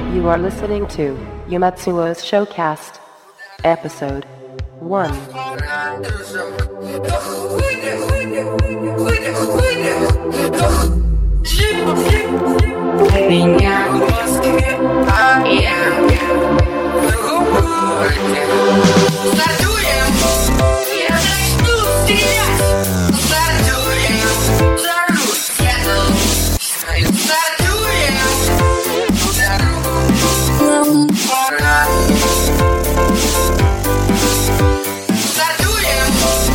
You are listening to Yumatsuo's Showcast, Episode 1. Меня в Москве, Задуем, я начну стрелять. Задуем, взорвусь, задуем, взорву, пора. Задуем,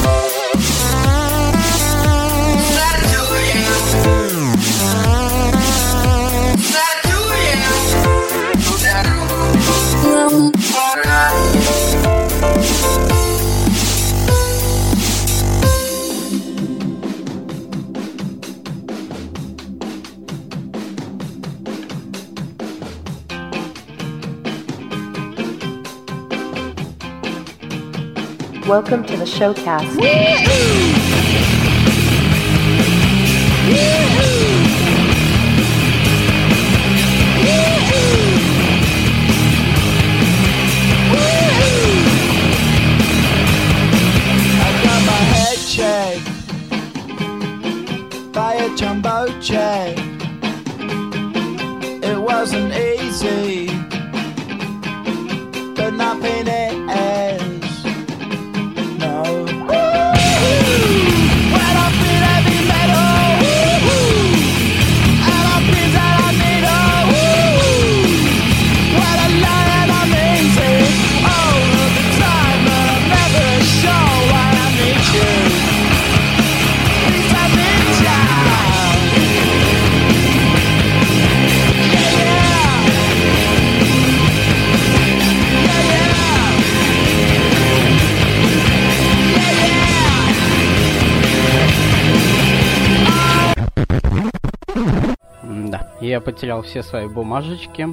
задуем, пора. Welcome to the Showcast. Checked by a jumbo jet. It wasn't easy, but nothing is. No. When I feel heavy metal, and I feel that I need when I lie and I'm easy all of the time, but I'm never sure why I need you. Да, я потерял все свои бумажечки.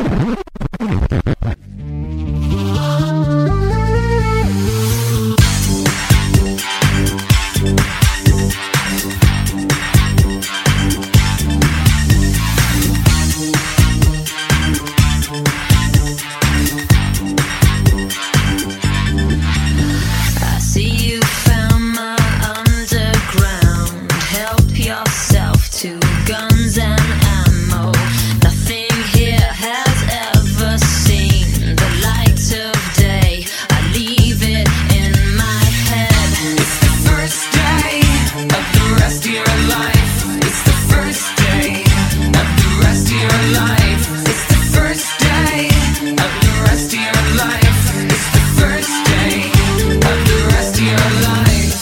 I see you found my underground. Help yourself to guns and ammo. Nothing here has ever seen the light of day. I leave it in my head. It's the first day of the rest of your life. It's the first day of the rest of your life. It's the first day of the rest of your life. It's the first day of the rest of your life.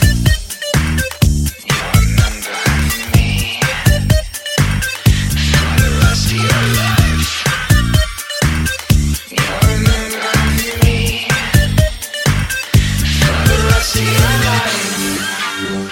You remember me for the rest of your life. You remember me for the rest of your life.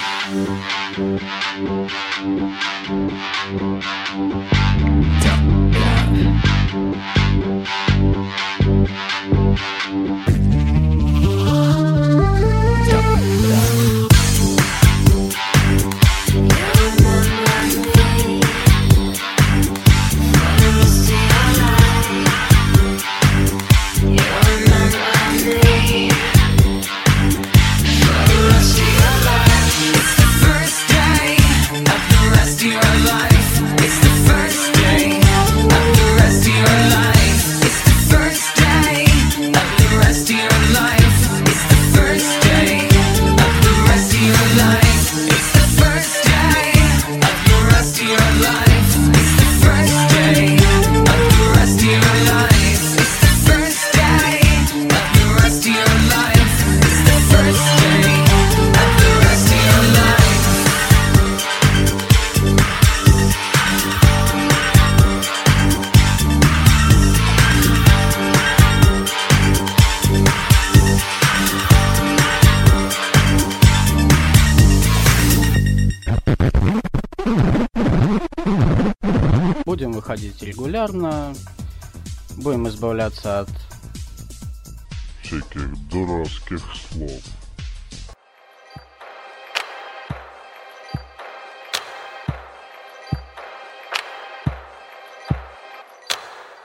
It's the first day of the rest of your life. It's the first day of the rest of your life. It's the first day of the rest of your life. It's the first day of the rest of your life. It's the first day of the rest of your life. It's the first day of the rest of your life. It's the first day of the rest of your life. It's the first day of the rest of your life. Будем выходить регулярно. Будем избавляться от всяких дурацких слов.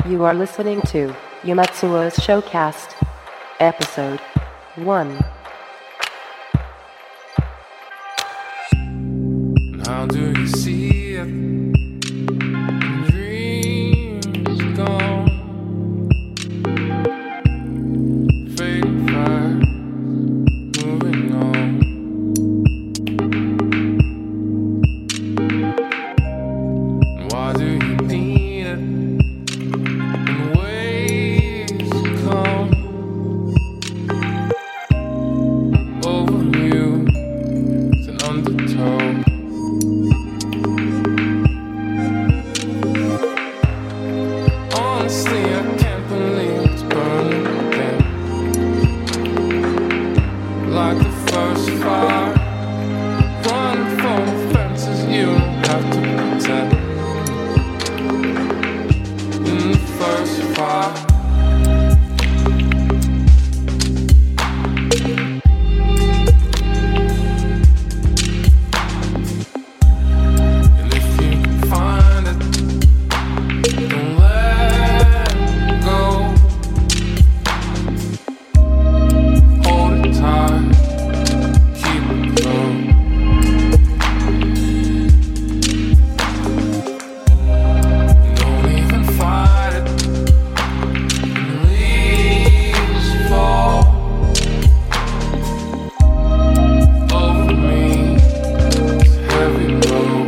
You are listening to Yumatsuo's Showcast, Episode 1. How do you see it? Dreams gone, fading fast, moving on. Why do you need it? In ways come over you, it's an undertow. Honestly, I can't believe it's burning again. Like the first fire, running from the fences, you don't have to pretend. In the first fire, and if you can find it, don't let go. Hold it tight, keep it close. Don't even fight it. When leaves fall over me, it's heavy load.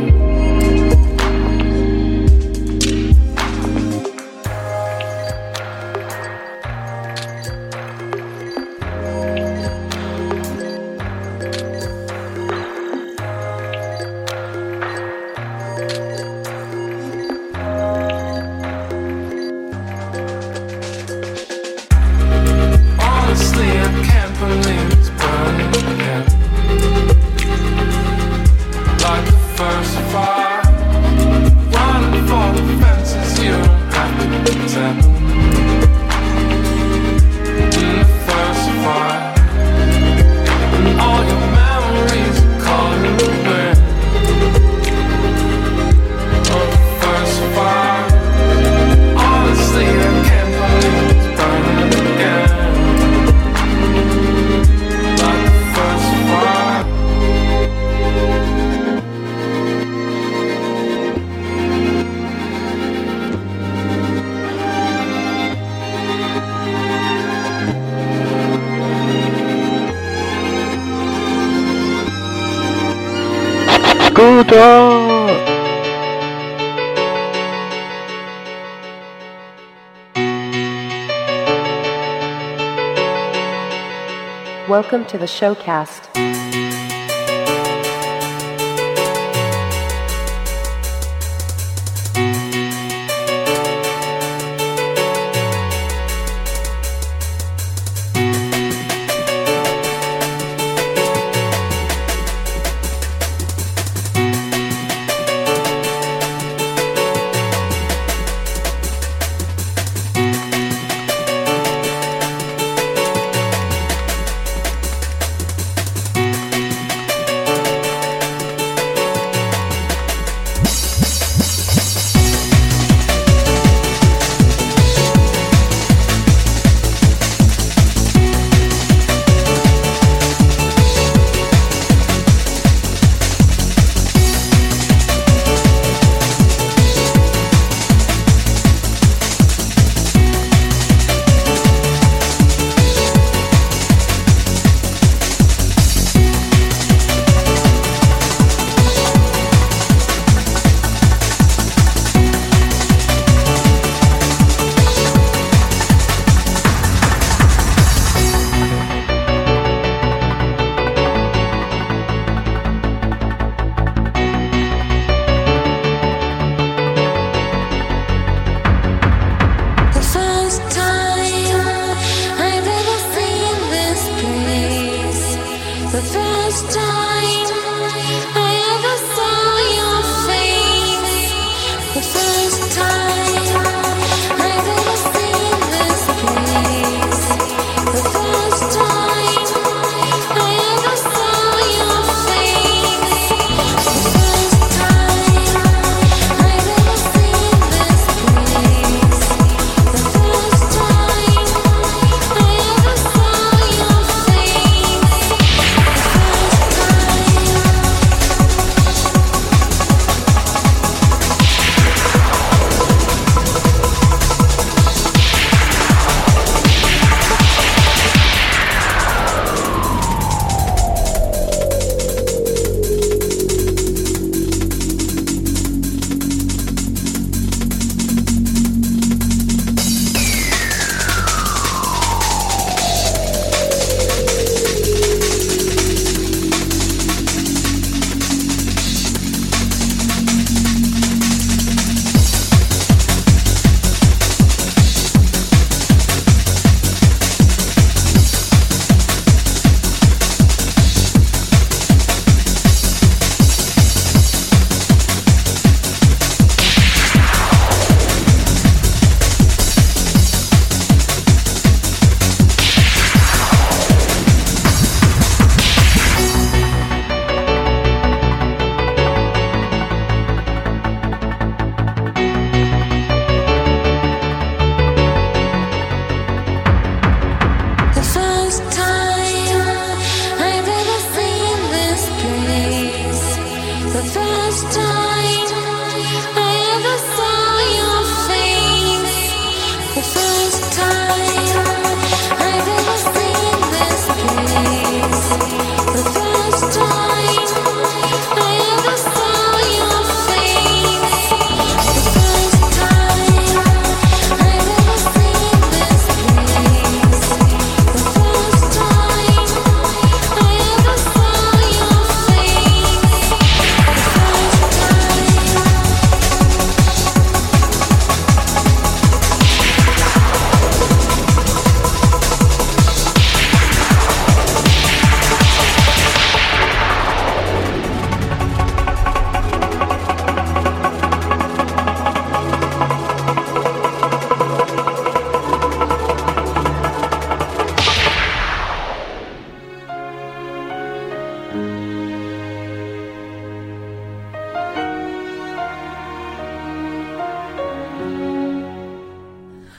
Honestly, I can't believe it's burning again. Like the first fire, running for the fences, you don't have to pretend. In the first fire, and all your memories are calling the wind. Of the first fire, honestly, I can't believe it's burning again. Like the first fire. Welcome to the Showcast.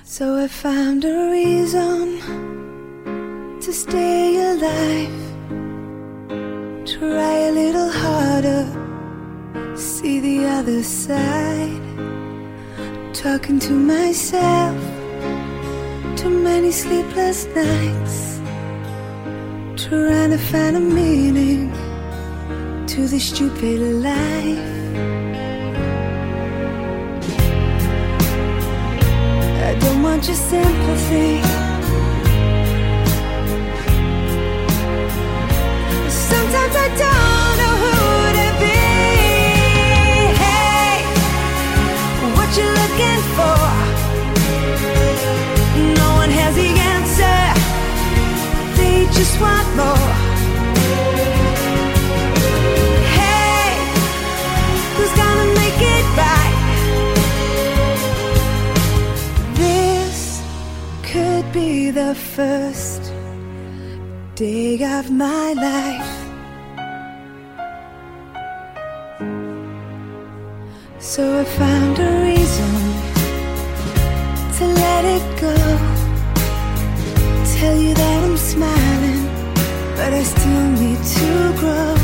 So I found a reason to stay alive. Try a little harder, see the other side. Talking to myself, too many sleepless nights, trying to find a meaning to this stupid life. I don't want your sympathy. Sometimes I don't know who to be. Hey, what you looking for? No one has the answer. They just want more. Hey, who's gonna make it right? This could be the first day of my life. So I found a reason to let it go. Tell you that I'm smiling, but I still need to grow.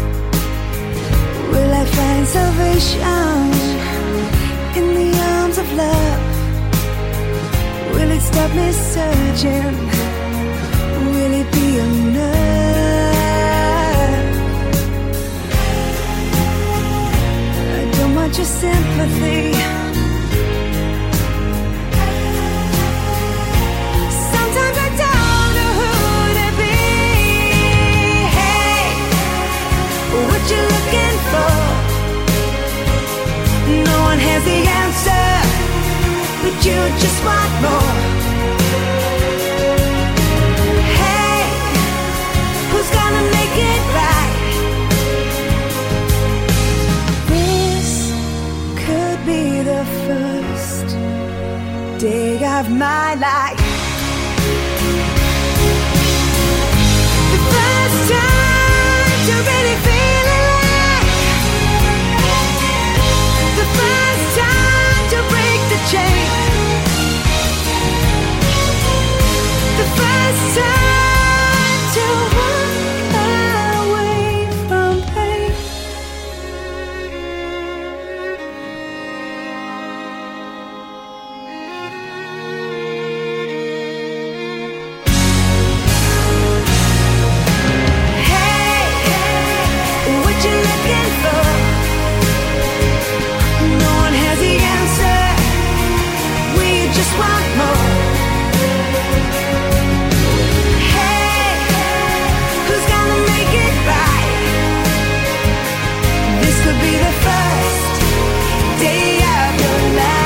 Will I find salvation in the arms of love? Will it stop me searching? Will it be enough? I don't want your sympathy. Sometimes I don't know who to be. Hey, what you looking for? No one has the answer, but you just want more. Hey, who's gonna make it right? This could be the first day of my life. The first time to really feel alive. The first time to break the chain. The first time to walk away from pain. Hey, what you looking for? No one has the answer. We just want more. Hey, who's gonna make it right? This could be the first day of your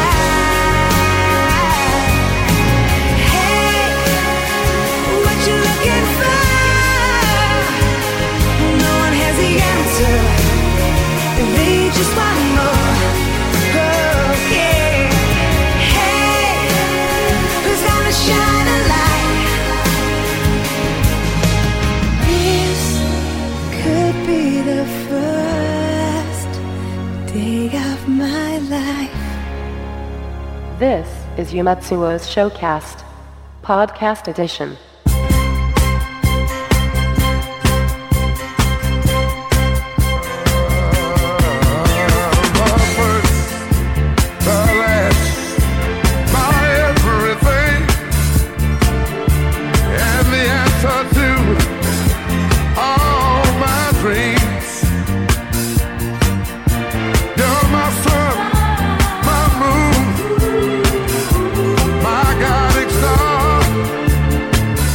life. Hey, what you looking for? No one has the answer. They just want more. Oh, yeah. Hey, who's gonna shine a light? This could be the first day of my life. This is Yumatsuo's Showcast, Podcast Edition. My first, the last, my everything, and the answer to all my dreams. You're my sun, my moon, my guiding star.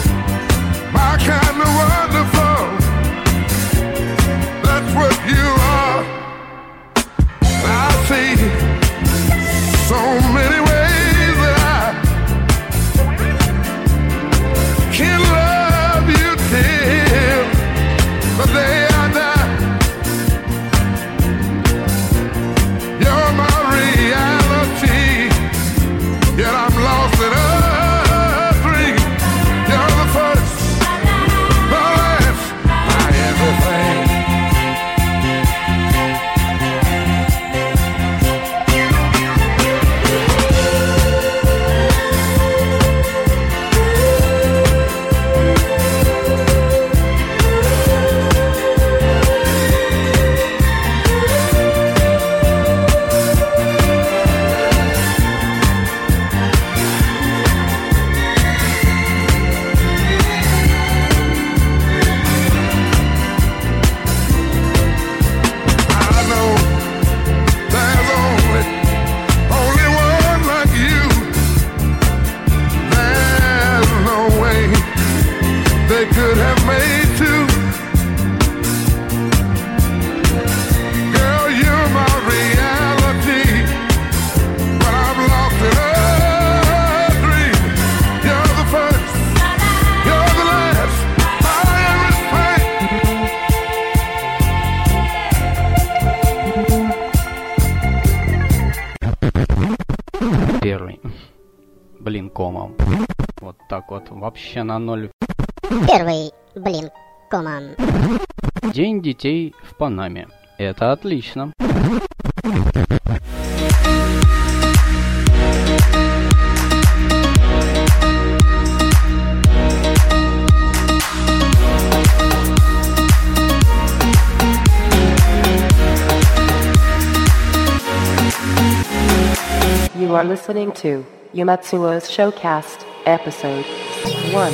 первый, блин, комом. Вот так вот, вообще на ноль. Первый, блин, комом. День детей в Панаме. Это отлично. You are listening to Yumatsuo's Showcast, Episode 1.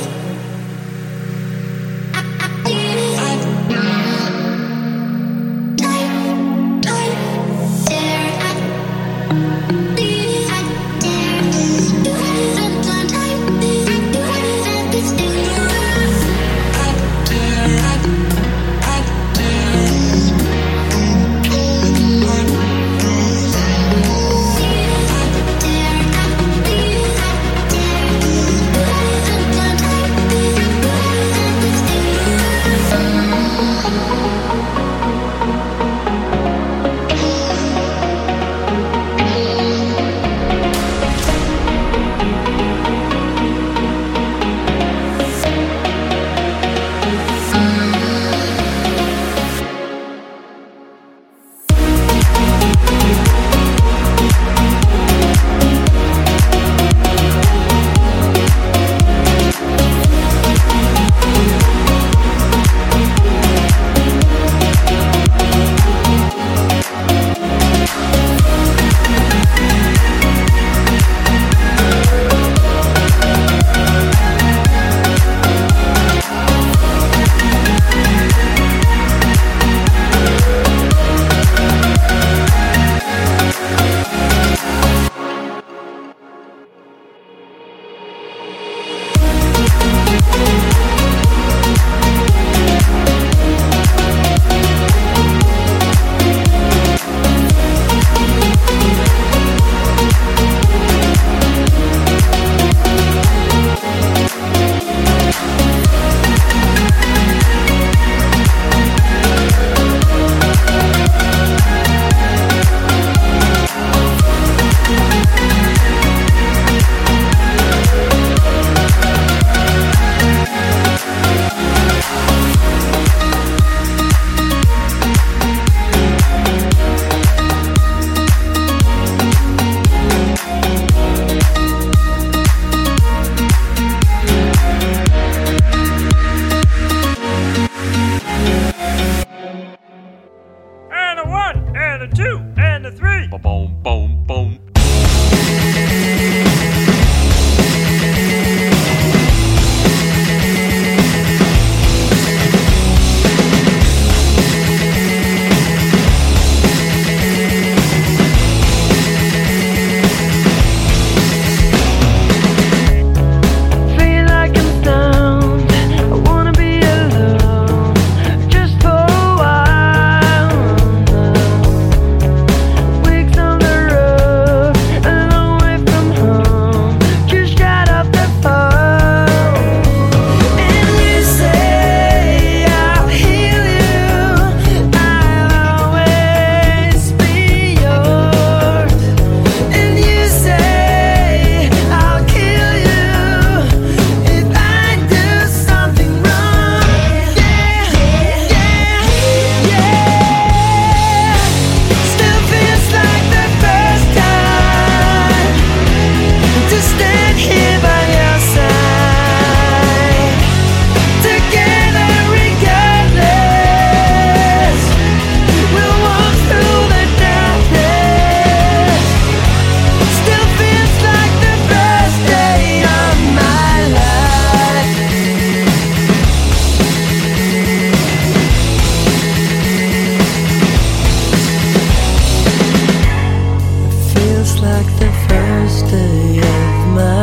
like the first day of my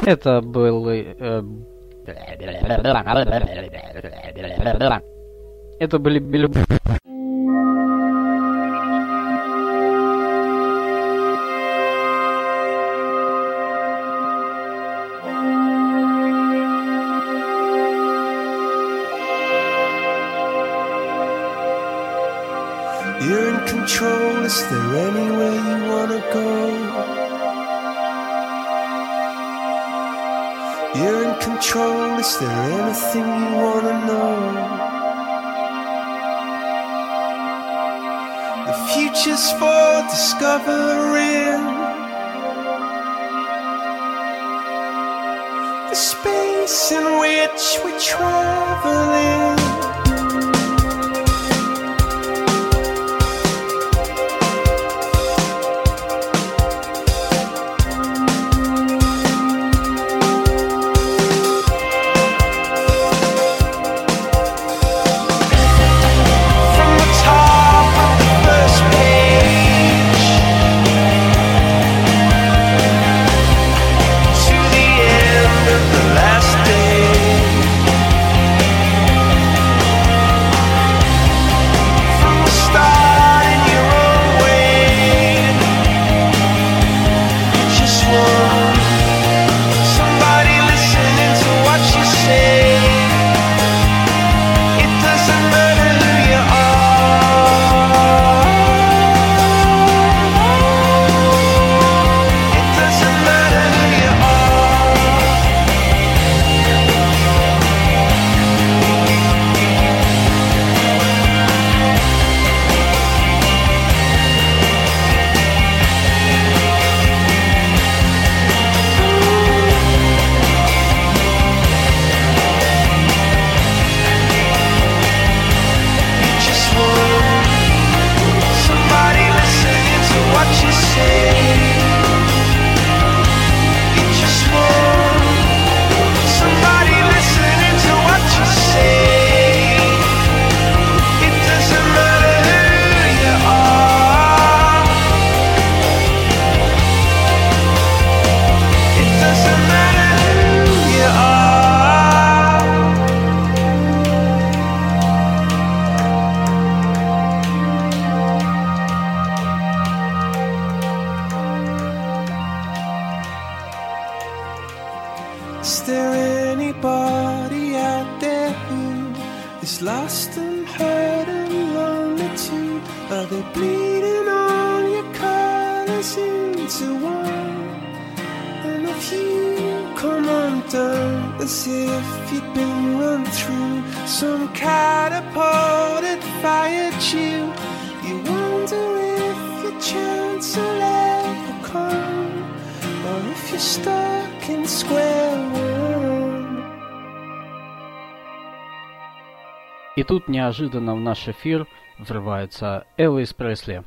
Это был... Это были You're in control, is there anywhere you wanna go? You're in control, is there anything you wanna know? The future's for discovering, the space in which we're traveling. Is there anybody out there who is lost and hurt and lonely too? Are they bleeding all your colors into one? And if you come undone as if you'd been run through some catapult that fired you, you wonder if your chance will ever come, or if you're stuck in square one. И тут неожиданно в наш эфир врывается Элвис Пресли.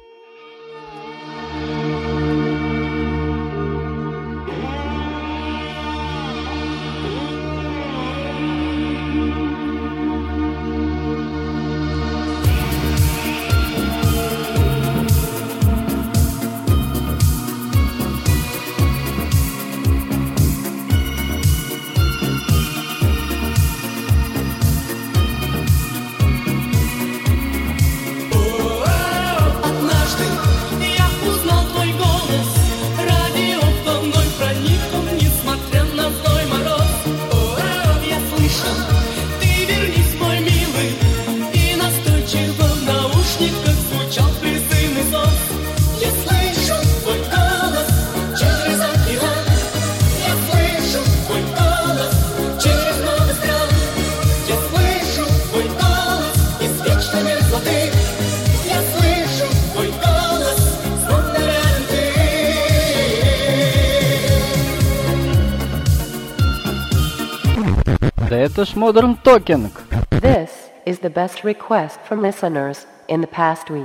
Да это ж Modern Talking. This is the best request from listeners in the past week.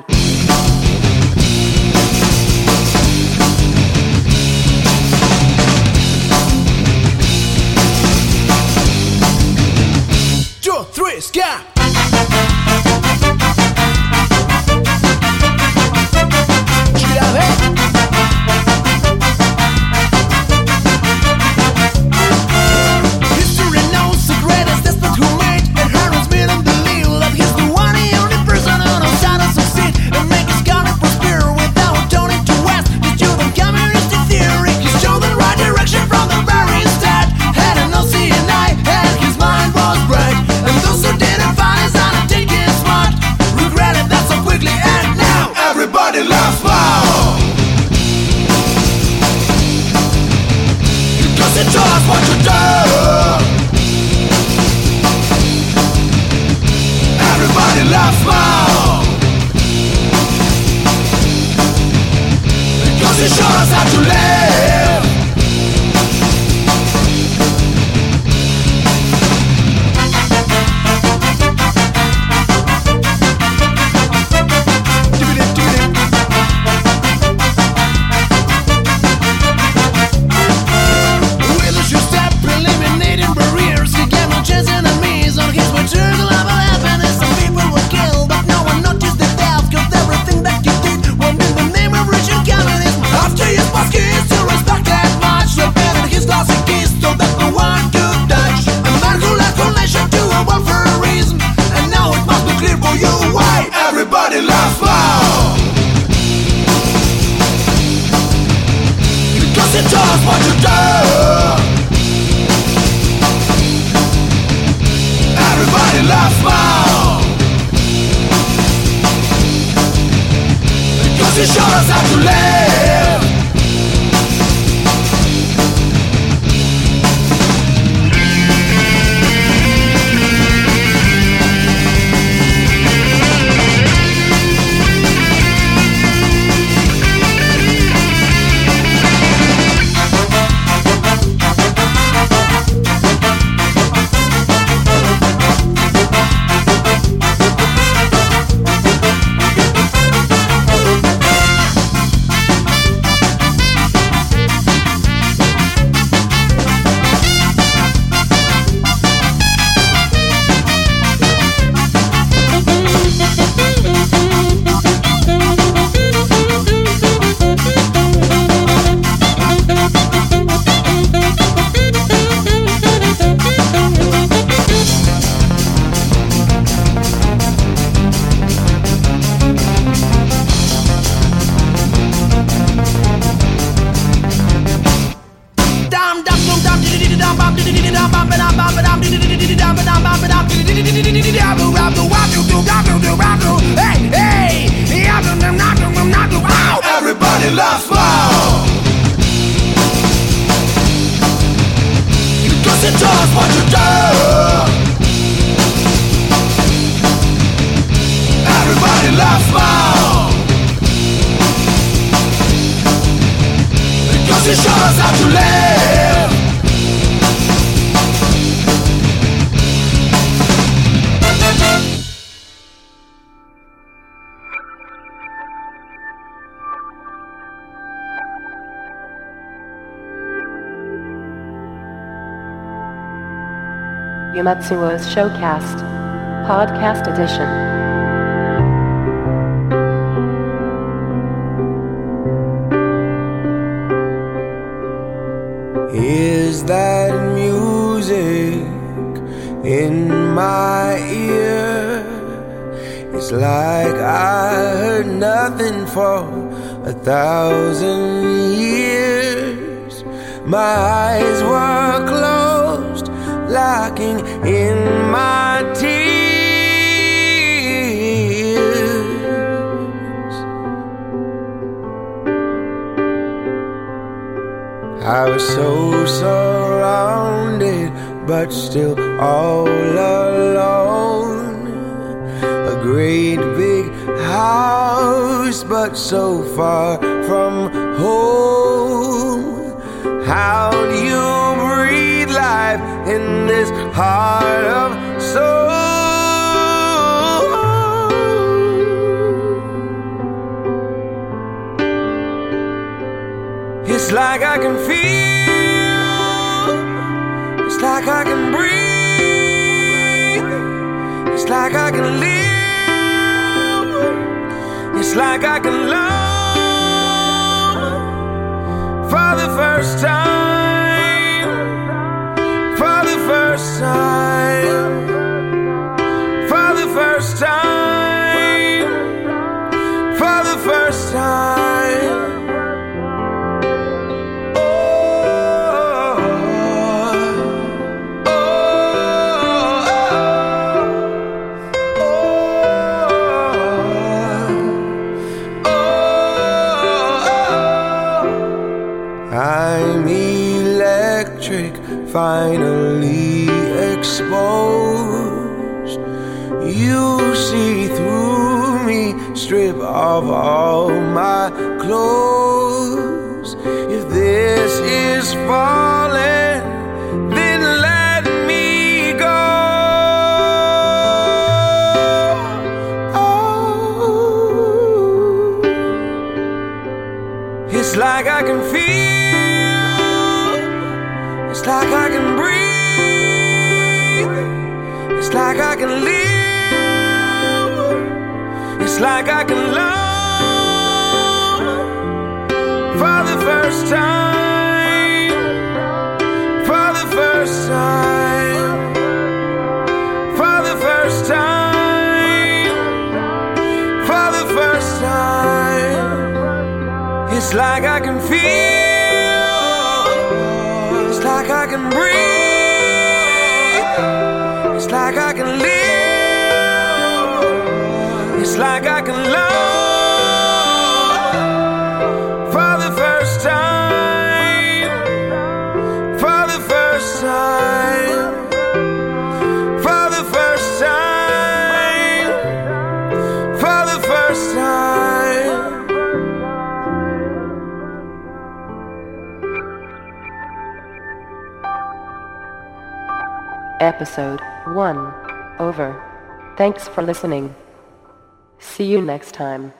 Two, three, ska! to live. Everybody loves love because it does what you do. Everybody loves love because it shows us how to live. Everybody loves love because it does what you do. Everybody loves love because it shows us how to live. Yumatsuo's Showcast, Podcast Edition. Is that music in my ear? It's like I heard nothing for 1,000 years. My eyes were closed, locking in my tears. I was so surrounded, but still all alone. A great big house, but so far from home. How do you breathe life in this heart of soul? It's like I can feel, it's like I can breathe, it's like I can live, it's like I can love for the first time, for the first time, for the first time, for the first time. I'm electric, finally exposed. You see through me, strip off all my clothes. darkness is falling, then let me go. Oh, it's like I can feel, it's like I can breathe, it's like I can live, it's like I can love. For the first time, for the first time, for the first time, for the first time, it's like I can feel, it's like I can breathe, it's like I can live, it's like I can love. Episode 1 over. Thanks for listening. See you next time.